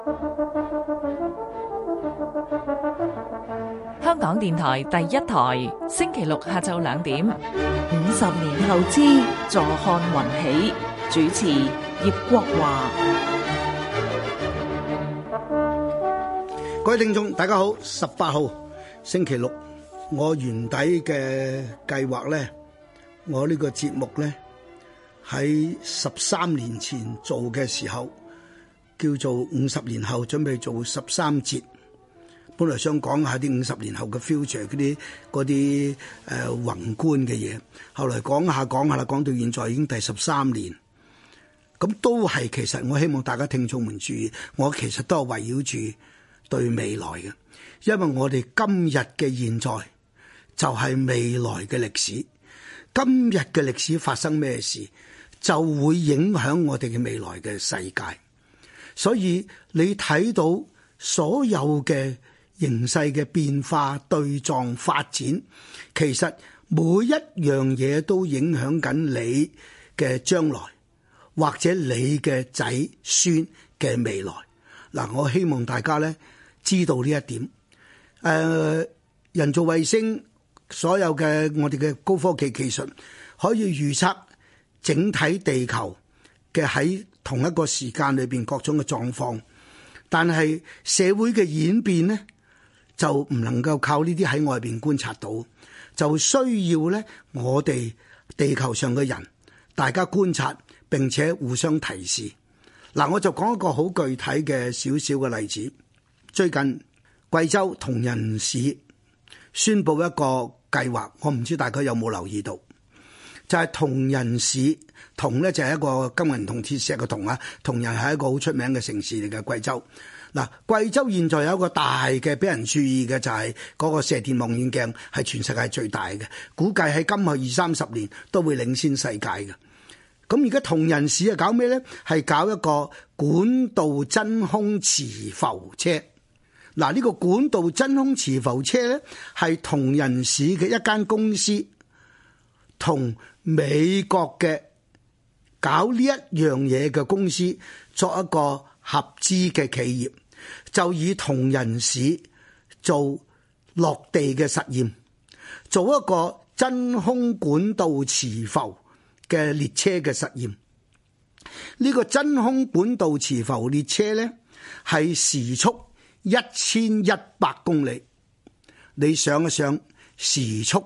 香港電台第一台，星期六下晝2點。 50年後之坐看雲起，主持葉國華。 各位聽眾大家好，18號星期六，我原底嘅計劃呢，我呢個節目呢，喺13年前做嘅時候，叫做50年後，準備做13節。本來想講下啲50年後嘅 future 嗰啲宏觀嘅嘢，後來講下啦，講到現在已經第13年，咁都係其實我希望大家聽眾們注意，我其實都係圍繞住對未來嘅，因為我哋今日嘅現在就係未來嘅歷史，今日嘅歷史發生咩事，就會影響我哋嘅未來嘅世界。所以你睇到所有嘅形勢嘅變化、對撞發展，其實每一樣嘢都影響緊你嘅將來，或者你嘅仔孫嘅未來。嗱，我希望大家咧知道呢一點。人造衛星所有嘅我哋嘅高科技技術，可以預測整體地球嘅喺同一個時間裏邊各種嘅狀況，但係社會嘅演變呢，就唔能夠靠呢啲喺外邊觀察到，就需要咧我哋地球上嘅人大家觀察並且互相提示。嗱，我就講一個好具體嘅少少嘅例子。最近貴州銅仁市宣布一個計劃，我唔知大家有冇留意到，就係銅仁市，銅咧就係一個金銀銅鐵石嘅銅啊，銅仁係一個好出名嘅城市嚟嘅貴州。嗱，貴州現在有一個大嘅俾人注意嘅就係嗰個射電望遠鏡係全世界最大嘅，估計喺今後20-30年都會領先世界嘅。咁而家銅仁市係搞咩咧？係搞一個管道真空磁浮車。嗱，呢個管道真空磁浮車咧係銅仁市嘅一間公司同美國嘅搞呢一樣嘢嘅公司作一個合資嘅企業，就以銅仁市做落地嘅實驗，做一個真空管道磁浮嘅列車嘅實驗。呢個真空管道磁浮列車呢，係時速1100公里。你想一想，時速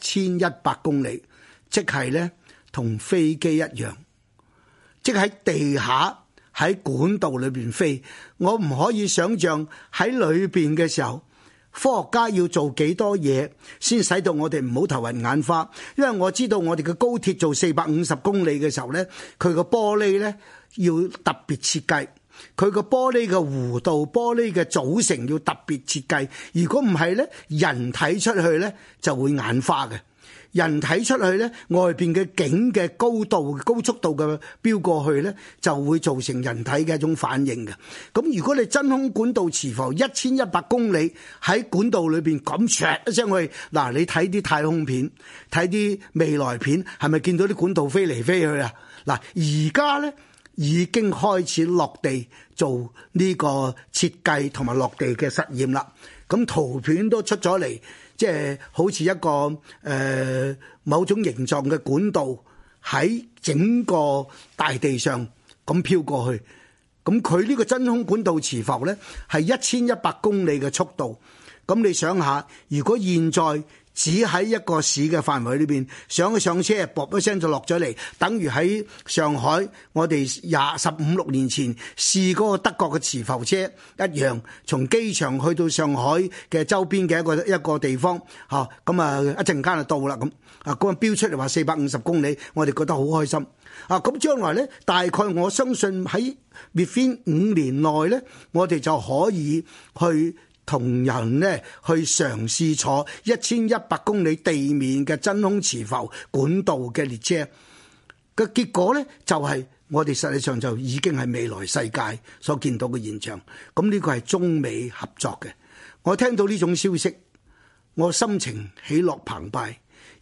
1100公里，即係呢同飛機一樣，即係喺地下喺管道裏邊飛。我唔可以想象喺裏邊嘅時候，科學家要做幾多嘢先使到我哋唔好頭暈眼花。因為我知道我哋嘅高鐵做450公里嘅時候呢，佢個玻璃呢要特別設計，佢個玻璃嘅弧度、玻璃嘅組成要特別設計。如果唔係呢，人睇出去呢就會眼花嘅。人睇出去呢，外邊嘅景嘅高度、高速度嘅飆過去呢，就會造成人體嘅一種反應嘅。咁如果你真空管道磁浮1100公里喺管道裏邊咁唰一聲去，嗱，你睇啲太空片、睇啲未來片，係咪見到啲管道飛嚟飛去啊？嗱，而家呢已經開始落地做呢個設計同埋落地嘅實驗啦。咁圖片都出咗嚟。即係好似一個某種形狀嘅管道喺整個大地上咁飄過去，咁佢呢個真空管道磁浮呢係1100公里嘅速度。咁你想下，如果現在只喺一個市嘅範圍裏邊上車，啵一聲就落咗嚟，等於喺上海我哋15-16年前試嗰個德國嘅磁浮車一樣，從機場去到上海嘅周邊嘅一個地方，咁啊一陣間就到啦。咁啊嗰個標出嚟話450公里，我哋覺得好開心啊！咁將來呢，大概我相信喺 within 5年內呢，我哋就可以去同人呢去嘗試坐1100公里地面嘅真空磁浮管道嘅列車嘅結果呢，就係我哋實際上就已經係未來世界所見到嘅現象。咁呢個係中美合作嘅。我聽到呢種消息，我心情喜樂澎湃。一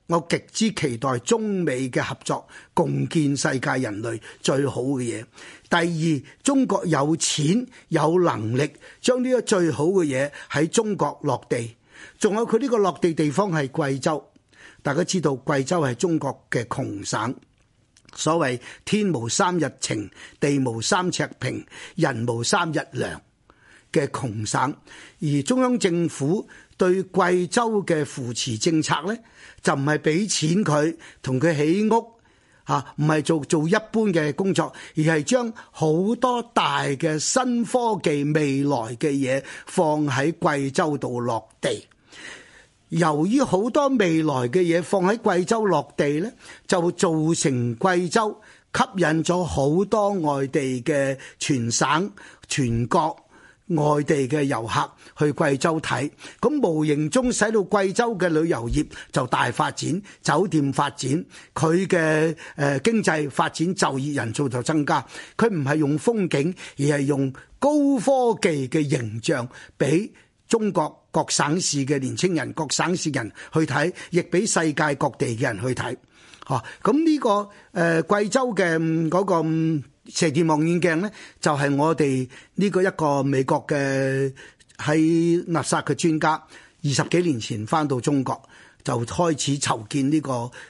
我極之期待中美嘅合作，共建世界人類最好嘅嘢。第二，中國有錢有能力將呢個最好嘅嘢喺中國落地。仲有佢呢個落地地方係貴州，大家知道貴州係中國嘅窮省。所謂天無三日晴，地無三尺平，人無三日涼嘅窮省，而中央政府對貴州嘅扶持政策呢，就唔係俾錢佢同佢起屋唔係做一般嘅工作，而係將好多大嘅新科技未來嘅嘢放喺貴州度落地。由於好多未來嘅嘢放喺貴州落地呢，就造成貴州吸引咗好多外地嘅全省全國外地嘅遊客去貴州睇，咁無形中使到貴州嘅旅遊業就大發展，酒店發展，佢嘅經濟發展，就業人數就增加。佢唔係用風景，而係用高科技嘅形象俾中國各省市嘅年輕人、各省市人去睇，亦俾世界各地嘅人去睇。咁呢個貴州嘅嗰個射電望遠鏡呢，就係我哋呢個一個美國嘅喺納薩嘅專家，20幾年前翻到中國就開始籌建呢個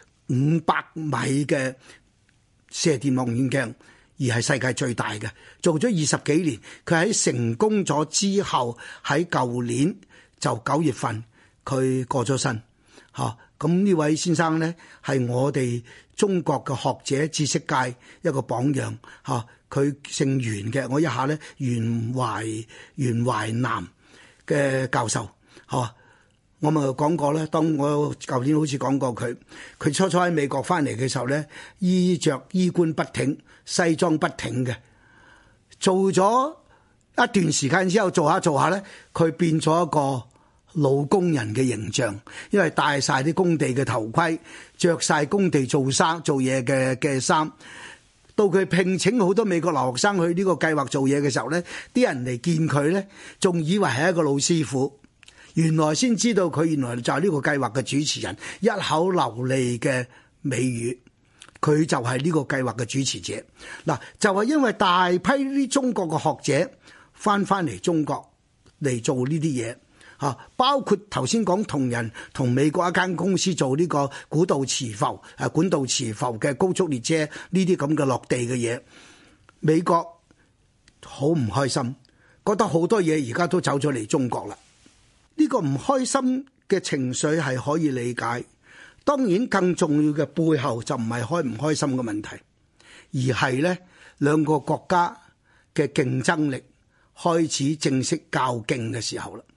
500米嘅射電望遠鏡，而係世界最大嘅，做咗20幾年。佢喺成功咗之後，喺舊年就9月份佢過咗身。咁呢位先生呢，係我哋中國嘅學者知識界一個榜樣。佢姓袁嘅，我一下呢，袁懷南嘅教授。我咪講過咧，當我舊年好似講過佢初初喺美國翻嚟嘅時候呢，衣冠不挺，西裝不挺嘅，做咗一段時間之後，做下呢，佢變咗一個老工人嘅形象，因為戴晒啲工地嘅頭盔，着晒工地做嘢嘅衫。到佢聘請好多美國留學生去呢個計劃做嘢嘅時候呢，啲人嚟見佢呢，仲以為係一個老師傅，原來先知道佢原來就係呢個計劃嘅主持人，一口流利嘅美語，佢就係呢個計劃嘅主持者。嗱，就係因為大批啲中國嘅學者翻嚟中國嚟做呢啲嘢。包括頭先講同美國一間公司做呢個管道磁浮嘅高速列車呢啲咁嘅落地嘅嘢，美國好唔開心，覺得好多嘢而家都走咗嚟中國啦。呢個唔開心嘅情緒係可以理解，當然更重要嘅背後就唔係開唔開心嘅問題，而係呢兩個國家嘅競爭力開始正式較勁嘅時候啦。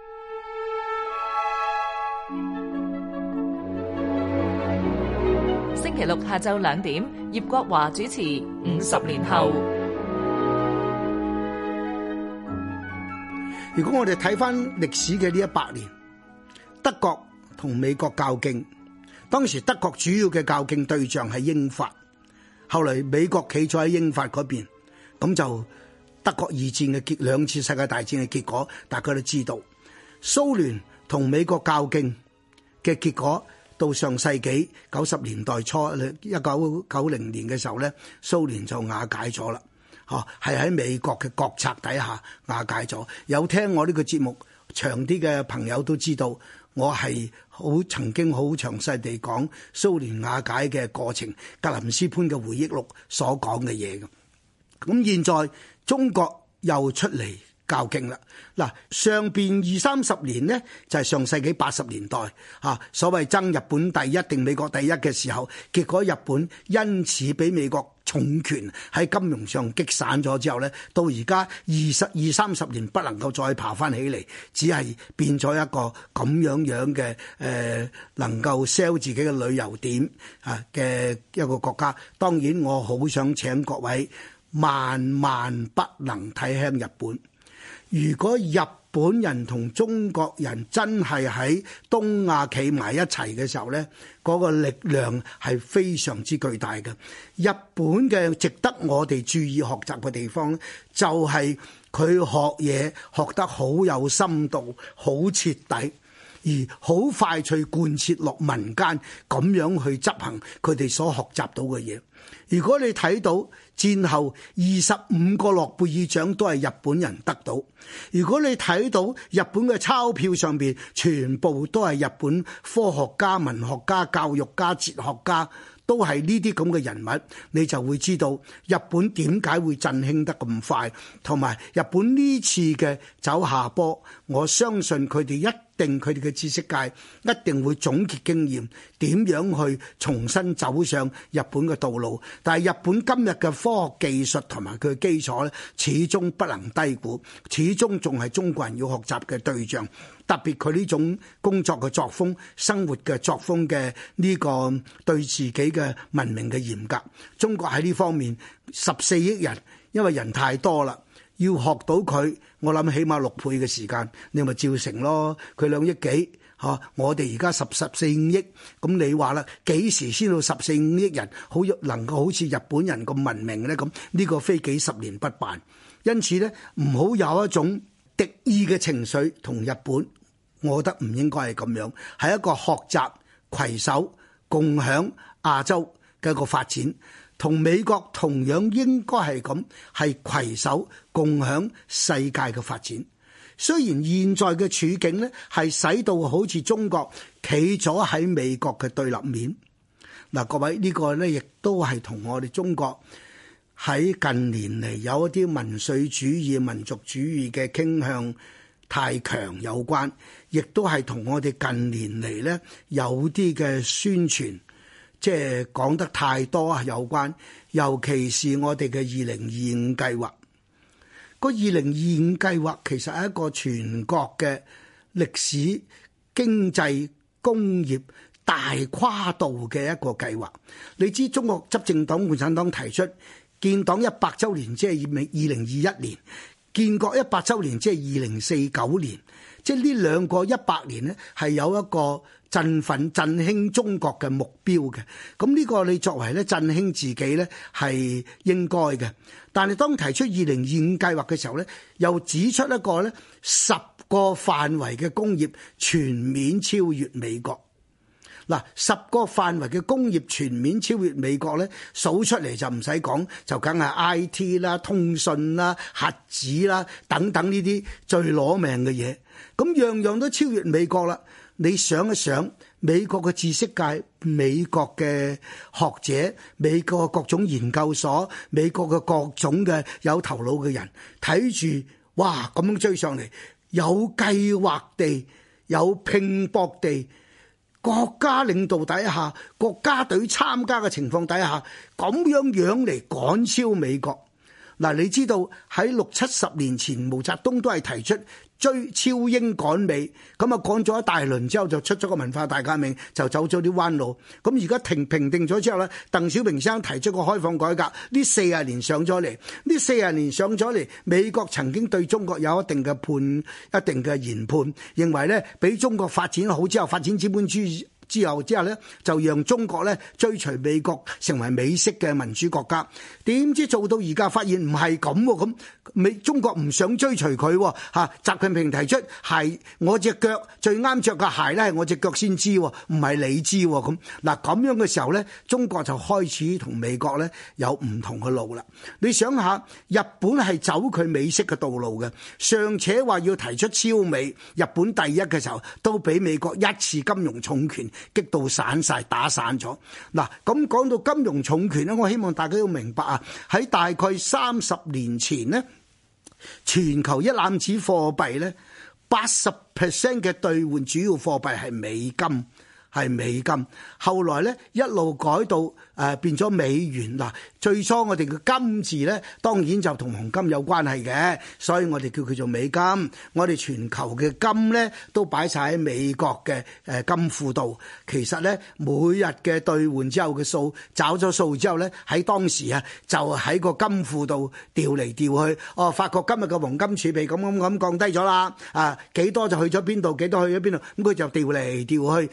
星期六下晝2點，葉國華主持《50年後》。 如果我哋睇翻歷史嘅呢100年，德國同美國較勁，當時德國主要嘅較勁對象係英法，後嚟美國企咗喺英法嗰邊，咁就德國2戰嘅兩次世界大戰嘅結果，大家都知道。蘇聯同美國較勁嘅結果，到上世紀90年代初1990年嘅時候咧，蘇聯就瓦解咗啦。係喺美國嘅國策底下瓦解咗。有聽我呢個節目長啲嘅朋友都知道，我係曾經好詳細地講蘇聯瓦解嘅過程，格林斯潘嘅回憶錄所講嘅嘢嘅。咁現在中國又出嚟較勁啦！嗱，上邊20-30年呢，就係上世紀80年代所謂爭日本第一定美國第一嘅時候，結果日本因此俾美國重拳喺金融上擊散咗之後呢，到而家20-30年不能夠再爬翻起嚟，只係變咗一個咁樣嘅能夠 sell 自己嘅旅遊點嘅一個國家。當然我好想請各位萬萬不能睇輕日本。如果日本人同中國人真係喺東亞企埋一齊嘅時候呢，嗰個力量係非常之巨大嘅。日本嘅值得我哋注意學習嘅地方，就係佢學嘢學得好有深度，好徹底。 而好快脆貫徹落民間，咁樣去執行佢哋所學習到嘅嘢。如果你睇到戰後25個諾貝爾獎都係日本人得到，如果你睇到日本嘅鈔票上邊全部都係日本科學家、文學家、教育家、哲學家，都係呢啲咁嘅人物，你就會知道日本點解會振興得咁快，同埋日本呢次嘅走下坡，我相信佢哋佢哋嘅知識界一定會總結經驗，點樣去重新走上日本嘅道路。但係日本今日嘅科學技術同埋佢嘅基礎咧，始終不能低估，始終仲係中國人要學習嘅對象。特別佢呢種工作嘅作風、生活嘅作風嘅呢個對自己嘅文明嘅嚴格，中國喺呢方面14億人，因為人太多啦，要學到佢，我諗起碼6倍嘅時間，你咪照成咯。佢2億幾嚇，我哋而家14、5億，咁你話啦，幾時先到14、5億人好能夠好似日本人咁文明咧？咁呢個非幾十年不辦，因此咧唔好有一種敵意嘅情緒同日本，我覺得唔應該係咁樣，係一個學習、攜手、共享亞洲嘅一個發展，同美國同樣應該係咁，係攜手共享世界嘅發展。雖然現在嘅處境呢係使到好似中國企咗喺美國嘅對立面，嗱，各位呢個呢亦都係同我哋中國喺近年嚟有一啲民粹主義、民族主義嘅傾向太強有關，亦都係同我哋近年嚟呢有啲嘅宣傳即係講得太多有關，尤其是我哋嘅2025計劃。個2025計劃其實係一個全國嘅歷史、經濟、工業大跨度嘅一個計劃。你知中國執政黨共產黨提出建黨100週年，即係2021年；建國100週年，即係2049年。即係呢兩個100年呢，係有一個振奮、振興中國嘅目標嘅。咁呢個你作為咧振興自己呢，係應該嘅。但係當提出2025計劃嘅時候呢，又指出一個呢10個範圍嘅工業全面超越美國。嗱，10個範圍嘅工業全面超越美國呢，數出嚟就唔使講，就梗係 IT 啦、通訊啦、核子啦等等呢啲最攞命嘅嘢。咁樣樣都超越美國啦。你想一想，美國嘅知識界、美國嘅學者、美國嘅各種研究所、美國嘅各種嘅有頭腦嘅人睇住，哇咁樣追上嚟，有計劃地、有拼搏地，國家領導底下、國家隊參加嘅情況底下，咁樣嚟趕超美國。嗱，你知道喺60、70年前，毛澤東都係提出追超英趕美，咁啊趕咗一大輪之後，就出咗個文化大革命，就走咗啲彎路。咁而家平定咗之後咧，鄧小平先生提出個開放改革，呢40年上咗嚟，呢40年上咗嚟，美國曾經對中國有一定嘅一定嘅研判，認為咧俾中國發展好之後，發展資本主義之後咧，就讓中國咧追隨美國成為美式嘅民主國家。點知做到而家發現唔係咁喎，咁中國唔想追隨佢喎嚇。習近平提出係我隻腳最啱着嘅鞋咧，係我隻腳先知，唔係你知喎咁。嗱咁樣嘅時候咧，中國就開始同美國咧有唔同嘅路啦。你想下，日本係走佢美式嘅道路嘅，尚且話要提出超美，日本第一嘅時候都俾美國一次金融重拳擊到散晒，打散咗。嗱，咁講到金融重拳咧，我希望大家要明白啊，喺大概30年前呢，全球一籃子貨幣呢，80% 嘅兌換主要貨幣係美金，後來呢一路改到變咗美元。嗱，最初我哋嘅金字呢，當然就同黃金有關係嘅，所以我哋叫佢做美金。我哋全球嘅金呢，都擺晒喺美國嘅金庫度。其實呢，每日嘅兌換之後嘅數，找咗數之後呢，喺當時啊，就喺個金庫度調嚟調去。發覺今日嘅黃金儲備咁降低咗啦，幾多就去咗邊度，幾多去咗邊度，咁佢就調嚟調去咁樣。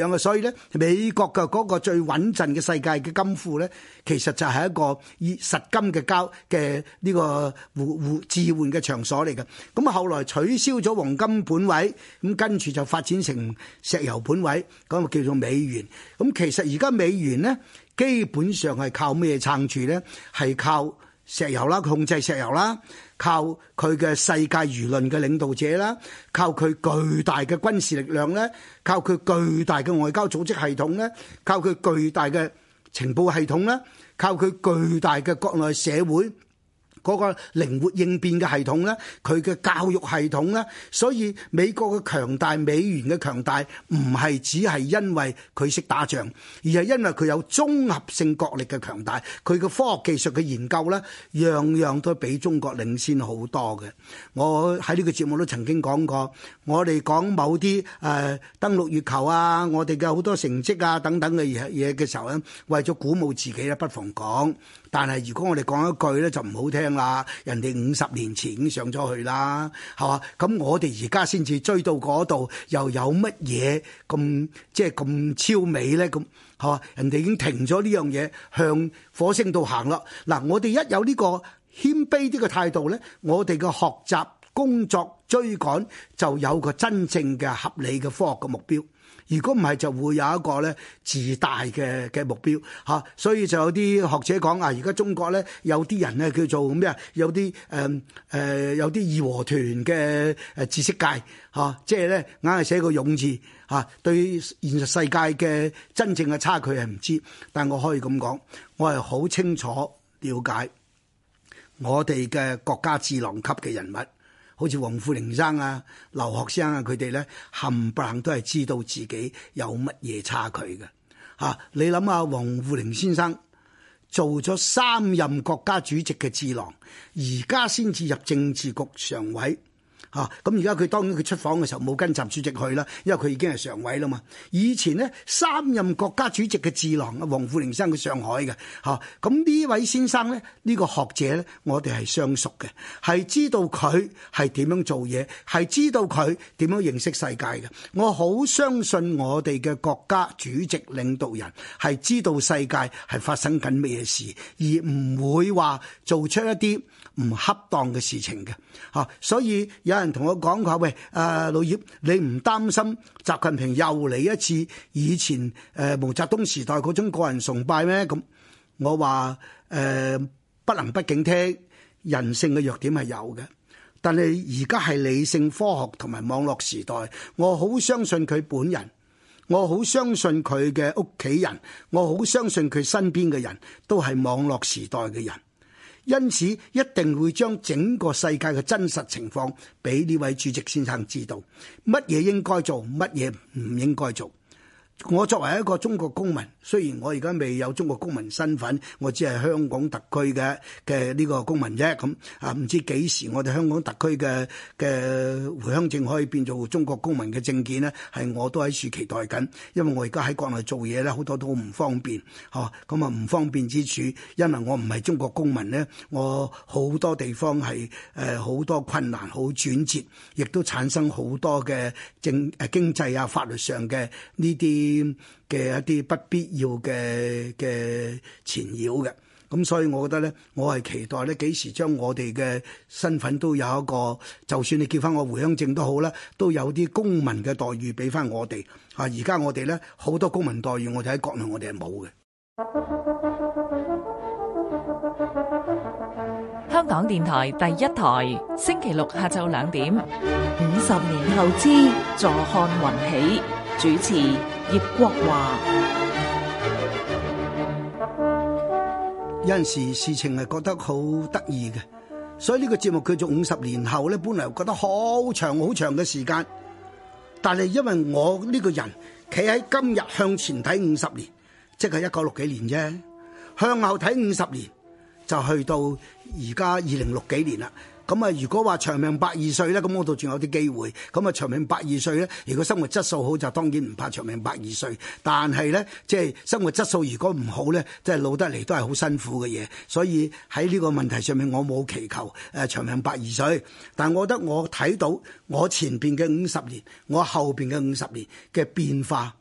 樣嘅。所以咧，美國嘅嗰個最穩陣嘅世界嘅金庫咧，其實就係一個以實金嘅交嘅呢個置換嘅場所嚟嘅。咁啊，後來取消咗黃金本位，咁跟住就發展成石油本位，咁啊叫做美元。咁其實而家美元咧，基本上係靠咩撐住咧？係靠石油啦，控制石油啦，靠佢嘅世界輿論嘅領導者啦，靠佢巨大嘅軍事力量咧，靠佢巨大嘅外交組織系統咧，靠佢巨大嘅情報系統咧，靠佢巨大嘅國內社會嗰個靈活應變嘅系統咧，佢嘅教育系統咧，所以美國嘅強大，美元嘅強大，唔係只係因為佢識打仗，而係因為佢有綜合性國力嘅強大，佢嘅科學技術嘅研究咧，樣樣都比中國領先好多嘅。我喺呢個節目都曾經講過，我哋講某啲登陸月球啊，我哋嘅好多成績啊等等嘅嘢嘅時候咧，為咗鼓舞自己咧，不妨講。但係如果我哋講一句咧，就唔好聽啦。人哋50年前已經上咗去啦，係嘛？咁我哋而家先至追到嗰度，又有乜嘢咁即係咁超美咧？咁係嘛？人哋已經停咗呢樣嘢，向火星度行啦。嗱，我哋一有呢個謙卑啲嘅態度咧，我哋嘅學習、工作、追趕就有個真正嘅合理嘅科學嘅目標。如果唔係，就會有一個咧自大嘅目標嚇，所以就有啲學者講啊，而家中國咧有啲人咧叫做咩啊？有啲有啲義和團嘅知識界嚇，即係咧硬係寫個勇字嚇，對現實世界嘅真正嘅差距係唔知，但我可以咁講，我係好清楚了解我哋嘅國家智囊級嘅人物。好似黃富玲生啊、劉學生啊，佢哋咧冚唪唥都係知道自己有乜嘢差距嘅嚇。你諗下，黃富玲先生做咗3任國家主席嘅智囊，而家先至入政治局常委。咁而家佢當然佢出訪嘅時候冇跟習主席去啦，因為佢已經係常委啦嘛。以前呢3任國家主席嘅智囊啊，黃富玲生佢上海嘅咁呢位先生呢，呢個學者呢，我哋係相熟嘅，係知道佢係點樣做嘢，係知道佢點樣認識世界嘅。我好相信我哋嘅國家主席領導人係知道世界係發生緊咩事，而唔會話做出一啲唔恰當嘅事情嘅。所以有人同我講話，喂，老葉，你唔擔心習近平又嚟一次以前毛澤東時代嗰種個人崇拜咩？咁我話不能不警惕，人性嘅弱點係有嘅，但係而家係理性科學同埋網絡時代，我好相信佢本人，我好相信佢嘅屋企人，我好相信佢身邊嘅人都係網絡時代嘅人。因此一定會將整個世界嘅真實情況俾呢位主席先生知道，乜嘢應該做，乜嘢唔應該做。我作為一個中國公民，雖然我而家未有中國公民身份，我只係香港特區嘅呢個公民啫。咁唔知幾時我哋香港特區嘅回鄉證可以變做中國公民嘅證件呢？係我都喺處期待緊，因為我而家喺國內做嘢咧，好多都唔方便。咁唔方便之處，因為我唔係中國公民呢，我好多地方係好多困難，好轉折，亦都產生好多嘅經濟啊、法律上嘅呢啲嘅一啲不必要嘅纏繞嘅。咁所以我覺得咧，我係期待咧幾時將我哋嘅身份都有一個，就算你叫翻我回鄉證都好啦，都有啲公民嘅待遇俾翻我哋。而家我哋咧好多公民待遇，我哋喺國內我哋係冇嘅。 香港電台第一台，星期六下晝2點。 50年後之坐看雲起，主持葉國華。 有陣時事情係覺得好得意嘅，所以呢個節目叫做50年後咧，本來覺得好長好長嘅時間，但係因為我呢個人企喺今日向前睇50年，即係1960幾年啫，向後睇50年就去到而家2060幾年啦。咁啊，如果話長命120歲咧，咁我度仲有啲機會。咁啊，長命120歲咧，如果生活質素好，就當然唔怕長命120歲。但係咧，即係生活質素如果唔好咧，即係老得嚟都係好辛苦嘅嘢。所以喺呢個問題上面，我冇祈求長命120歲。但我覺得我睇到我前邊嘅50年，我後邊嘅50年嘅變化，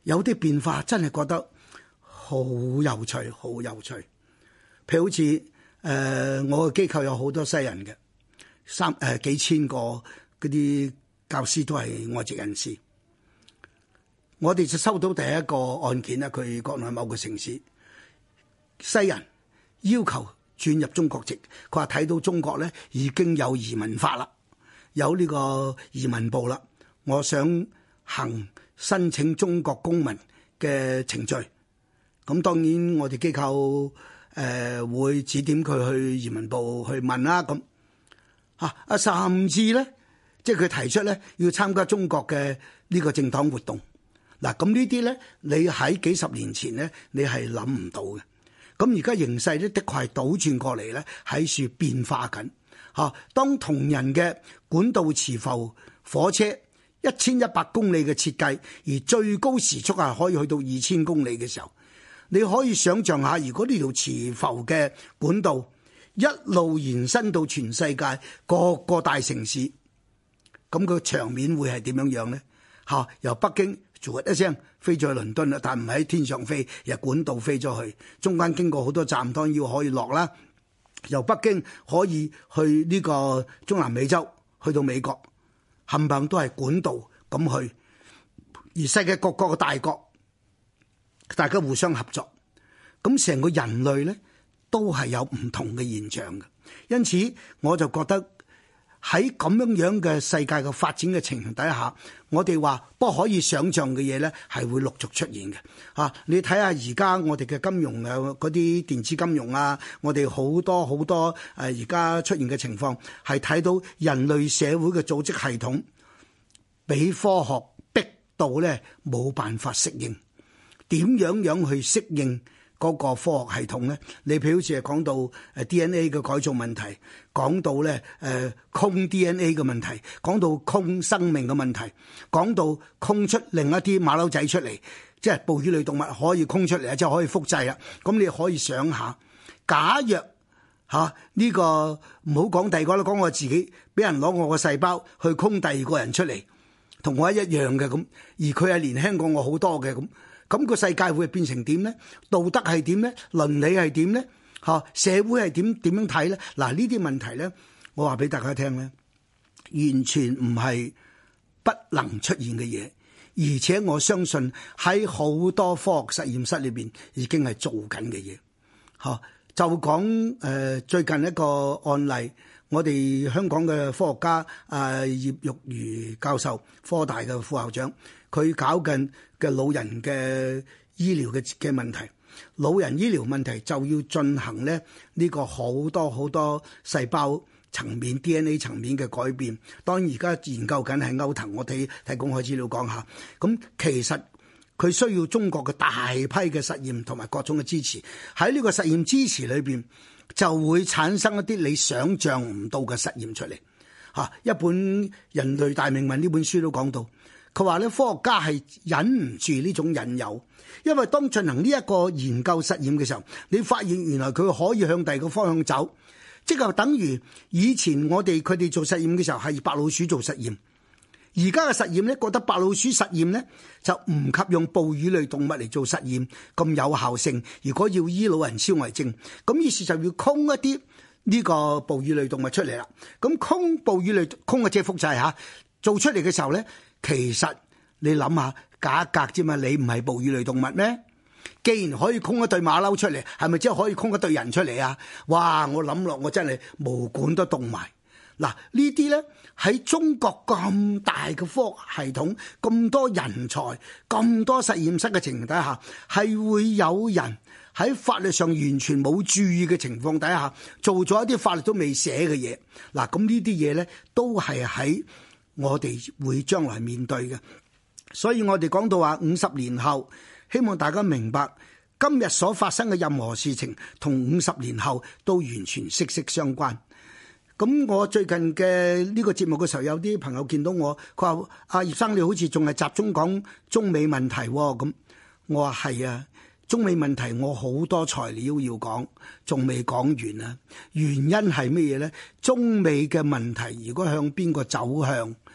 有啲變化真係覺得好有趣，好有趣。譬如好似我嘅機構有好多西人嘅，幾千個嗰啲教師都係外籍人士。我哋就收到第一個案件咧，佢國內某個城市西人要求轉入中國籍，佢話睇到中國咧已經有移民法啦，有呢個移民部啦，我想行申請中國公民嘅程序。咁當然我哋機構會指點佢去移民部去問啦。咁甚至咧，即係佢提出咧要參加中國嘅呢個政黨活動。嗱，咁呢啲咧，你喺幾十年前咧，你係諗唔到嘅。咁而家形勢咧，的確係倒轉過嚟咧，喺處變化緊。當同仁嘅管道磁浮火車1100公里嘅設計，而最高時速係可以去到2000公里嘅時候，你可以想象下，如果呢條磁浮嘅管道一路延伸到全世界各個大城市，咁個場面會係點樣樣咧？由北京一聲飛咗去倫敦啦，但唔係喺天上飛，由管道飛咗去，中間經過好多站，當然要可以落啦。由北京可以去呢個中南美洲，去到美國，冚唪唥都係管道咁去。而世界各國嘅大國，大家互相合作，咁成個人類咧都係有唔同嘅現象嘅。因此我就覺得喺咁樣嘅世界嘅發展嘅情形底下，我哋話不可以想像嘅嘢咧，係會陸續出現嘅。你睇下而家我哋嘅金融嗰啲電子金融啊，我哋好多而家出現嘅情況，係睇到人類社會嘅組織系統俾科學逼到咧冇辦法適應，點樣去適應嗰個科學系統咧？你譬如好似係講到DNA 嘅改造問題，講到咧空 DNA 嘅問題，講到空生命嘅問題，講到空出另一啲馬騮仔出嚟，即係哺乳類動物可以空出嚟啊，即係可以複製啊。咁你可以想下，假若呢個唔好講第二個啦，講我自己俾人攞我個細胞去空第二個人出嚟，同我一樣嘅咁，而佢係年輕過我好多嘅咁。咁個世界會變成點咧？道德係點咧？倫理係點咧？社會係點樣睇咧？嗱，呢啲問題咧，我話俾大家聽咧，完全唔係不能出現嘅嘢，而且我相信喺好多科學實驗室裏邊已經係做緊嘅嘢。就講最近一個案例，我哋香港嘅科學家葉玉如教授，科大嘅副校長，佢搞緊嘅老人嘅醫療嘅問題，老人醫療問題就要進行咧呢個好多細胞層面 DNA 層面嘅改變。當然而家研究緊係歐騰，我提供開資料講下。咁其實佢需要中國嘅大批嘅實驗同埋各種嘅支持。喺呢個實驗支持裏邊，就會產生一啲你想象唔到嘅實驗出嚟。一本《人類大命運》呢本書都講到。佢話咧，科學家係忍唔住呢種引誘，因為當進行呢一個研究實驗嘅時候，你發現原來佢可以向第二個方向走，即係等於以前佢哋做實驗嘅時候係白老鼠做實驗，而家嘅實驗咧覺得白老鼠實驗咧就唔及用哺乳類動物嚟做實驗咁有效性。如果要醫老人痴呆症，咁於是就要空一啲呢個哺乳類動物出嚟啦。咁空哺乳類空嘅即係複製嚇，做出嚟嘅時候咧。其實你諗下，假格啫嘛，你唔係哺乳類動物咩？既然可以空一對馬騮出嚟，係咪即係可以空一對人出嚟啊？哇！我諗落，我真係毛管都凍埋。嗱，呢啲咧喺中國咁大嘅科學系統、咁多人才、咁多實驗室嘅情形底下，係會有人喺法律上完全冇注意嘅情況底下，做咗一啲法律都未寫嘅嘢。嗱，咁呢啲嘢咧都係喺我哋會將來面對嘅，所以我哋講到話50年後，希望大家明白今日所發生嘅任何事情同50年後都完全息息相關。咁我最近嘅呢個節目嘅時候，有啲朋友見到我，佢話阿葉生你好似仲係集中講中美問題喎。咁我話係啊，中美問題我好多材料要講，仲未講完啊。原因係乜嘢呢？中美嘅問題如果向邊個走向，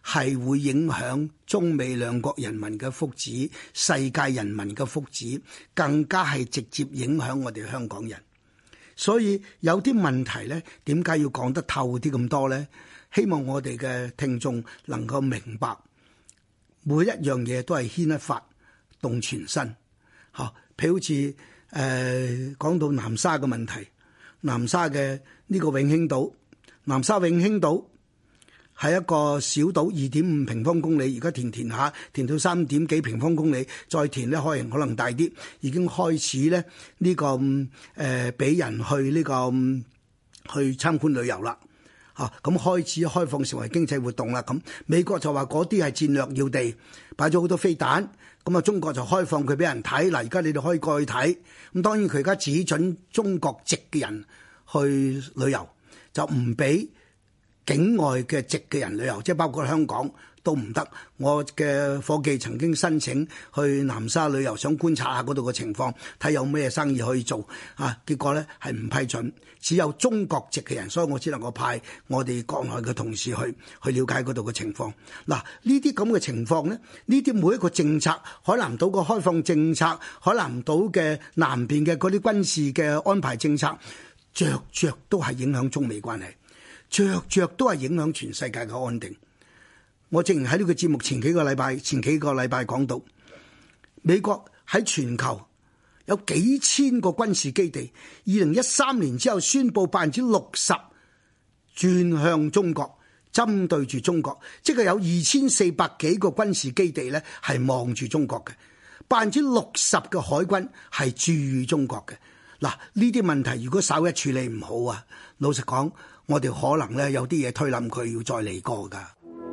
係會影響中美兩國人民嘅福祉、世界人民嘅福祉，更加係直接影響我哋香港人。所以有啲問題呢，點解要講得透啲咁多呢？希望我哋嘅聽眾能夠明白，每一樣嘢都係牽一髮動全身。嚇，譬如好似講到南沙嘅問題，南沙嘅呢個永興島，南沙永興島係一個小島，2.5平方公里，而家填下，填到3點幾平方公里，再填咧可能大啲，已經開始咧呢個俾人去呢個去參觀旅遊啦。咁開始開放成為經濟活動啦。咁美國就話嗰啲係戰略要地，擺咗好多飛彈。咁啊，中國就開放佢俾人睇。嗱，而家你哋可以過去睇。咁當然佢而家只准中國籍嘅人去旅遊，就唔俾境外嘅籍嘅人旅遊，即係包括香港都唔得。我嘅夥計曾經申請去南沙旅遊，想觀察下嗰度嘅情況，睇有咩生意可以做。結果咧係唔批准，只有中國籍嘅人，所以我只能夠派我哋國內嘅同事去了解嗰度嘅情況。嗱，呢啲咁嘅情況咧，呢啲每一個政策，海南島嘅開放政策，海南島嘅南邊嘅嗰啲軍事嘅安排政策，着都係影響中美關係，着都係影響全世界嘅安定。我正如喺呢個節目前幾個禮拜講到，美國喺全球有幾千個軍事基地，2013年之後宣布60%轉向中國，針對住中國，即係有2400幾個軍事基地咧係望住中國嘅，60%嘅海軍係駐於中國嘅。嗱，呢啲問題如果稍一處理唔好啊，老實講，我哋可能咧有啲嘢推冧佢，要再嚟過㗎。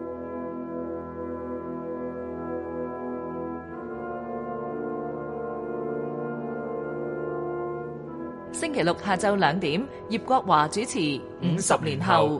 星期六下晝2點，葉國華主持《50年後》。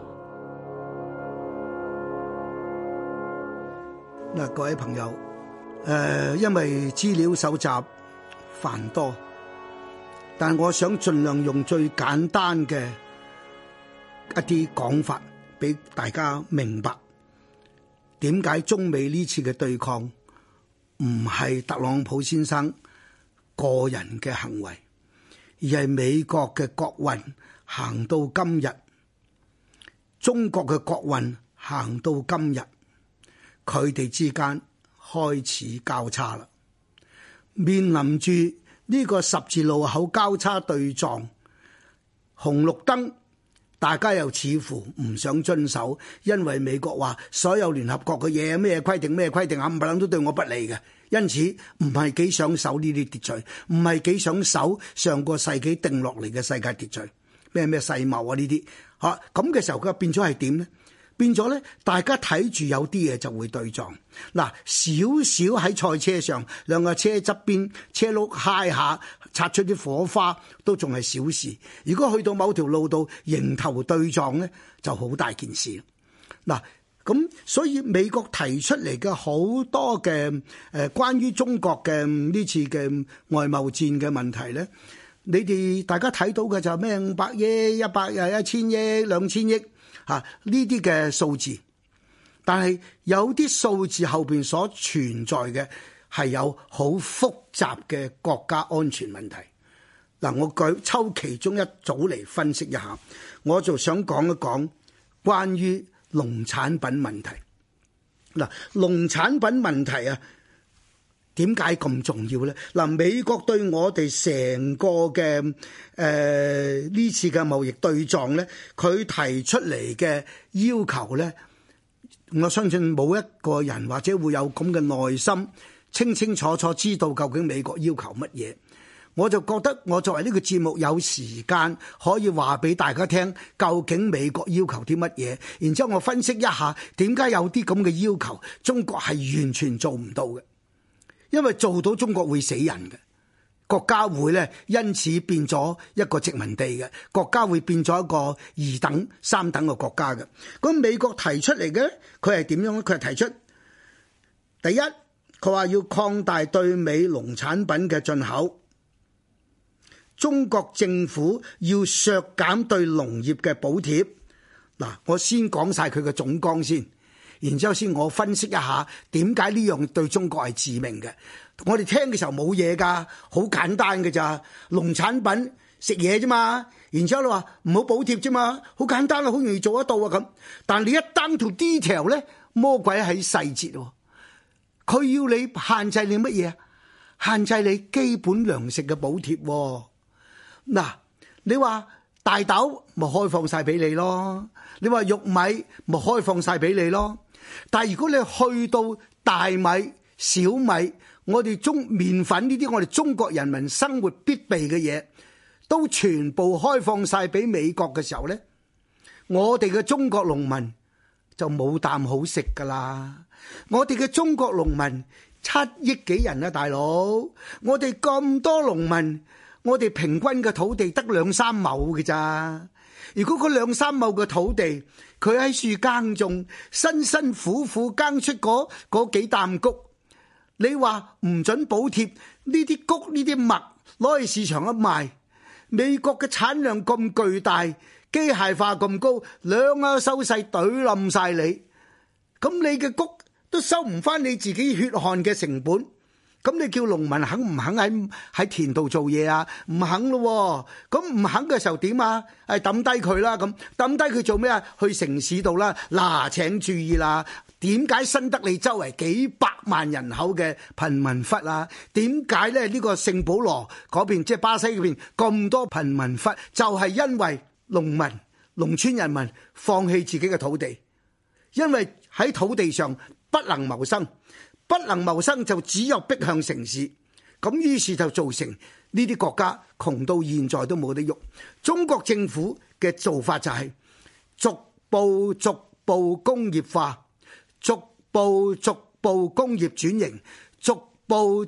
嗱，各位朋友，因為資料搜集繁多，但我想盡量用最簡單嘅一啲講法，俾大家明白點解中美呢次嘅對抗唔係特朗普先生個人嘅行為，而係美國嘅國運行到今日，中國嘅國運行到今日，佢哋之間開始交叉啦，面臨住呢個十字路口交叉對撞，紅綠燈大家又似乎唔想遵守，因為美國話所有聯合國嘅嘢咩規定冚唪唥都對我不利嘅。因此唔係幾想守呢啲秩序，唔係幾想守上個世紀定落嚟嘅世界秩序，咩世貿啊呢啲，咁嘅時候佢變咗係點呢？變咗咧，大家睇住有啲嘢就會對撞。嗱，少少喺賽車上兩個車側邊車轆揩下，擦出啲火花都仲係小事。如果去到某條路度迎頭對撞咧，就好大件事。嗱。咁所以美國提出嚟嘅好多嘅關於中國嘅呢次嘅外貿戰嘅問題咧，你哋大家睇到嘅就係咩500億、100億、1000億、2000億呢啲嘅數字，但係有啲數字後邊所存在嘅係有好複雜嘅國家安全問題。嗱，我抽其中一組嚟分析一下，我就想講一講關於農產品問題。嗱，農產品問題啊，點解咁重要呢？嗱，美國對我哋成個嘅呢次嘅貿易對撞呢，佢提出嚟嘅要求呢，我相信冇一個人或者會有咁嘅耐心，清清楚楚知道究竟美國要求乜嘢。我就覺得我作為呢個節目有時間可以話俾大家聽，究竟美國要求啲乜嘢，然之後我分析一下點解有啲咁嘅要求中國係完全做唔到嘅，因為做到中國會死人嘅，國家會咧因此變咗一個殖民地嘅，國家會變咗一個2等3等嘅國家嘅。咁美國提出嚟嘅佢係點樣咧？佢係提出第一，佢話要擴大對美農產品嘅進口。中國政府要削減對農業嘅補貼。嗱，我先講晒佢嘅總綱先， 然之後先我分析一下點解呢樣對中國係致命嘅。我哋聽嘅時候冇嘢㗎，好簡單嘅咋，農產品食嘢啫嘛。然之後你話唔好補貼啫嘛，好簡單啊，好容易做得到啊咁。但你一 down to detail 咧，魔鬼喺細節喎。佢要你限制你乜嘢啊？限制你基本糧食嘅補貼喎。嗱，你話大豆咪開放晒俾你咯，你話玉米咪開放晒俾你咯。但係如果你去到大米、小米，我哋麵粉呢啲我哋中國人民生活必備嘅嘢，都全部開放晒俾美國嘅時候呢，我哋嘅中國農民就冇啖好食噶啦。我哋嘅中國農民7億幾人啊，大佬，我哋咁多農民，我哋平均嘅土地得2-3畝嘅咋。如果嗰2-3畝嘅土地，佢喺樹耕種，辛辛苦苦耕出嗰幾擔穀，你話唔准補貼呢啲穀呢啲麥攞去市場一賣，美國嘅產量咁巨大，機械化咁高，兩下收勢懟冧晒你，咁你嘅穀都收唔翻你自己血汗嘅成本，咁你叫農民肯唔肯喺田度做嘢啊？唔肯咯，咁唔肯嘅時候點啊？係抌低佢啦，咁抌低佢做咩啊？去城市度啦，嗱，請注意啦，點解新德里周圍幾百萬人口嘅貧民窟啊？點解咧呢個聖保羅嗰邊即係巴西嗰邊咁多貧民窟？就係因為農民、農村人民放棄自己嘅土地，因為喺土地上不能謀生。不能謀生就只有逼向城市，咁於是就造成呢啲國家窮到現在都冇得喐。中國政府嘅做法就係逐步工業化，逐步工業轉型，逐步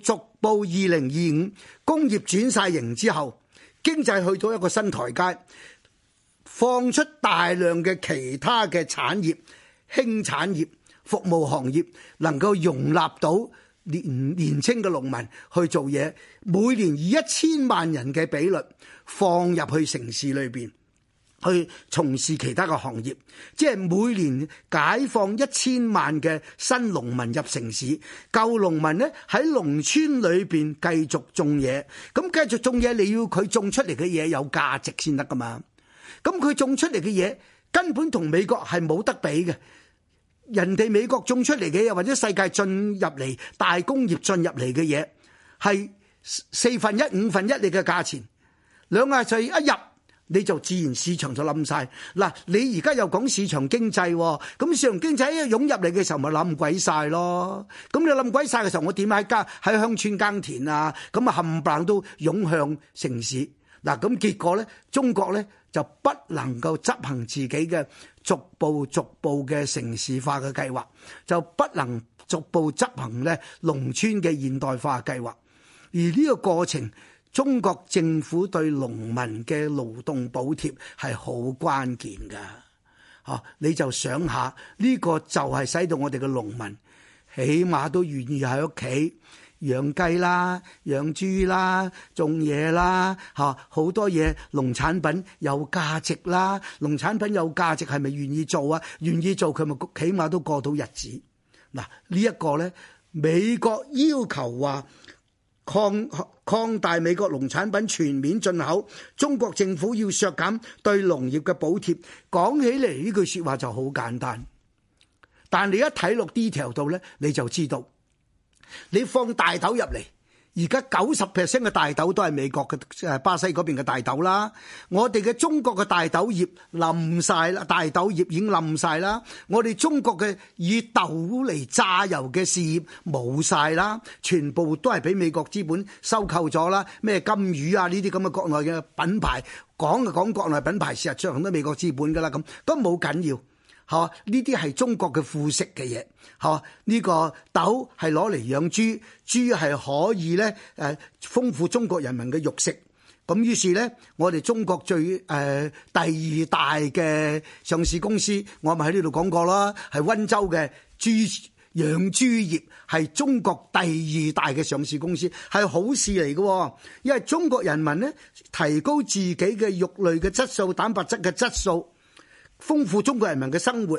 2025工業轉晒型之後，經濟去到一個新台階，放出大量嘅其他嘅產業、輕產業、服務行業能夠容納到年青嘅農民去做嘢，每年以1000萬人嘅比率放入去城市裏邊去從事其他嘅行業，即係每年解放1000萬嘅新農民入城市，舊農民呢喺農村裏邊繼續種嘢，咁繼續種嘢你要佢種出嚟嘅嘢有價值先得噶嘛，咁佢種出嚟嘅嘢根本同美國係冇得比嘅。人哋美國種出嚟嘅嘢，或者世界進入嚟大工業進入嚟嘅嘢，係1/4、1/5你嘅價錢，兩下就一入你就自然市場就冧晒。嗱，你而家又講市場經濟，咁市場經濟一湧入嚟嘅時候咪冧鬼晒咯。咁你冧鬼晒嘅時候，我點喺鄉村耕田啊？咁啊冚唪唥都湧向城市。嗱，咁結果咧，中國咧就不能夠執行自己嘅逐步嘅城市化嘅計劃，就不能逐步執行咧農村嘅現代化計劃。而呢個過程，中國政府對農民嘅勞動補貼係好關鍵㗎。你就想下，呢個就係使到我哋嘅農民起碼都願意喺屋企養雞啦、養豬啦、種嘢啦，好多嘢農產品有價值啦。農產品有價值係咪願意做啊？願意做佢咪起碼都過到日子。嗱，呢一個呢，美國要求話擴大美國農產品全面進口，中國政府要削減對農業嘅補貼。講起嚟呢句説話就好簡單，但你一睇落 detail 度呢，你就知道。你放大豆入嚟，而家90% 嘅大豆都係美國嘅巴西嗰邊嘅大豆啦。我哋嘅中國嘅大豆業冧晒啦，大豆業已經冧晒啦。我哋中國嘅以豆嚟榨油嘅事業冇晒啦，全部都係俾美國資本收購咗啦。咩金魚啊呢啲咁嘅國內嘅品牌，講就講國內品牌，事實上都係美國資本噶啦，咁都冇緊要。呢啲係中國嘅副食嘅嘢，呢個豆係攞嚟養豬，豬係可以咧豐富中國人民嘅肉食。咁於是咧，我哋中國最第二大嘅上市公司，我咪喺呢度講過啦，係溫州嘅養豬業係中國第二大嘅上市公司，係好事嚟嘅，因為中國人民咧提高自己嘅肉類嘅質素、蛋白質嘅質素。豐富中國人民嘅生活，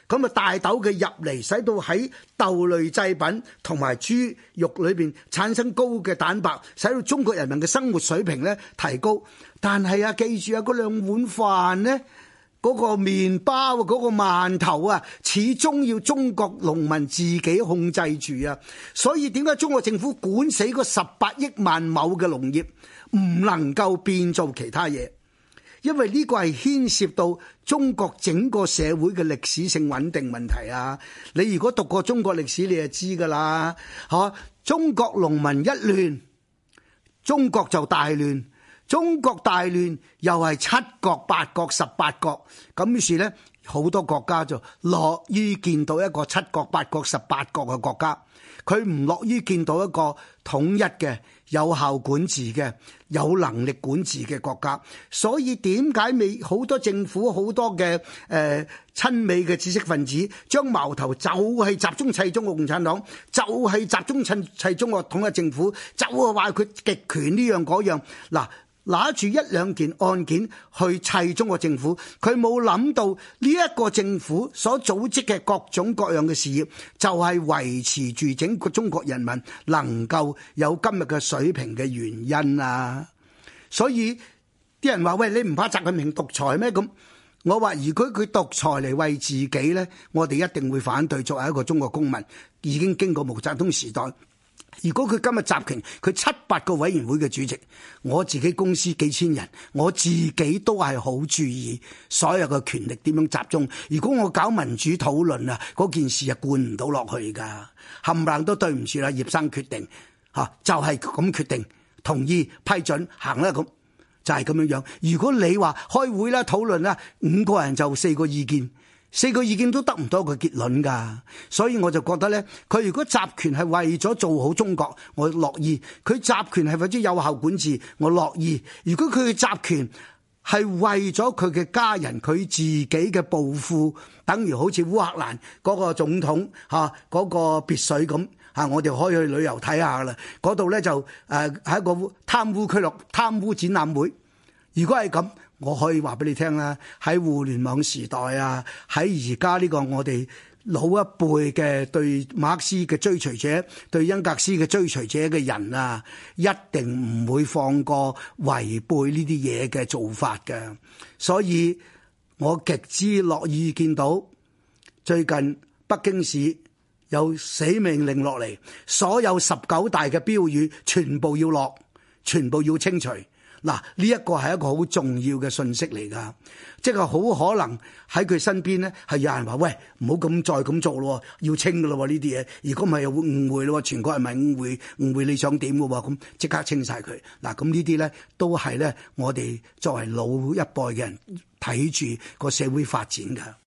咁啊大豆嘅入嚟，使到喺豆類製品同埋豬肉裏邊產生高嘅蛋白，使到中國人民嘅生活水平咧提高。但係啊，記住啊，嗰兩碗飯呢，嗰個麵包、嗰個饅頭啊，始終要中國農民自己控制住啊。所以點解中國政府管死嗰18億萬畝嘅農業，唔能夠變做其他嘢？因為呢個係牽涉到中國整個社會嘅歷史性穩定問題啊！你如果讀過中國歷史，你就知噶啦，嚇！中國農民一亂，中國就大亂。中國大亂又係7國、8國、18國，咁於是呢，好多國家就樂於見到一個7國、8國、18國嘅國家，佢唔樂於見到一個統一嘅、有效管治嘅、有能力管治嘅國家。所以點解好多政府、好多嘅親美嘅知識分子將矛頭就係集中砌中國共產黨，就係集中砌中國統一政府，就係話佢極權呢樣嗰樣。嗱，拿住一兩件案件去砌中國政府，佢冇諗到呢一個政府所組織嘅各種各樣嘅事業，就係維持住整個中國人民能夠有今日嘅水平嘅原因啊！所以啲人話：喂，你唔怕習近平獨裁咩？咁我話：如果佢獨裁嚟為自己呢，我哋一定會反對。作為一個中國公民，已經經過毛澤東時代。如果佢今日集權，佢7-8個委員會嘅主席，我自己公司幾千人，我自己都係好注意所有嘅權力點樣集中。如果我搞民主討論啊，嗰件事啊灌唔到落去㗎，冚唪唥都對唔住啦，葉生決定嚇，就係咁決定，同意批准行啦，咁就係咁樣樣。如果你話開會啦、討論啦，5個人就4個意見。4個意見都得唔到一個結論㗎，所以我就覺得呢，佢如果集權係為咗做好中國，我樂意；佢集權係為咗有效管治，我樂意。如果佢嘅集權係為咗佢嘅家人、佢自己嘅暴富，等於好似烏克蘭嗰個總統嚇嗰個別墅咁嚇，我哋可以去旅遊睇下啦。嗰度呢就係一個貪污展覽會。如果係咁，我可以話俾你聽啦，喺互聯網時代啊，喺而家呢個我哋老一輩嘅對馬克思嘅追隨者、對恩格斯嘅追隨者嘅人啊，一定唔會放過違背呢啲嘢嘅做法嘅。所以我極之樂意見到最近北京市有死命令落嚟，所有19大嘅標語全部要落，全部要清除。嗱，呢一個係一個好重要嘅信息嚟㗎，即係好可能喺佢身邊呢係有人話：喂，唔好再咁做咯，要清㗎咯呢啲嘢。如果唔係又會誤會咯，全國人民誤會你想點㗎喎？咁即刻清晒佢。嗱，咁呢啲呢都係呢我哋作為老一輩嘅人睇住個社會發展㗎。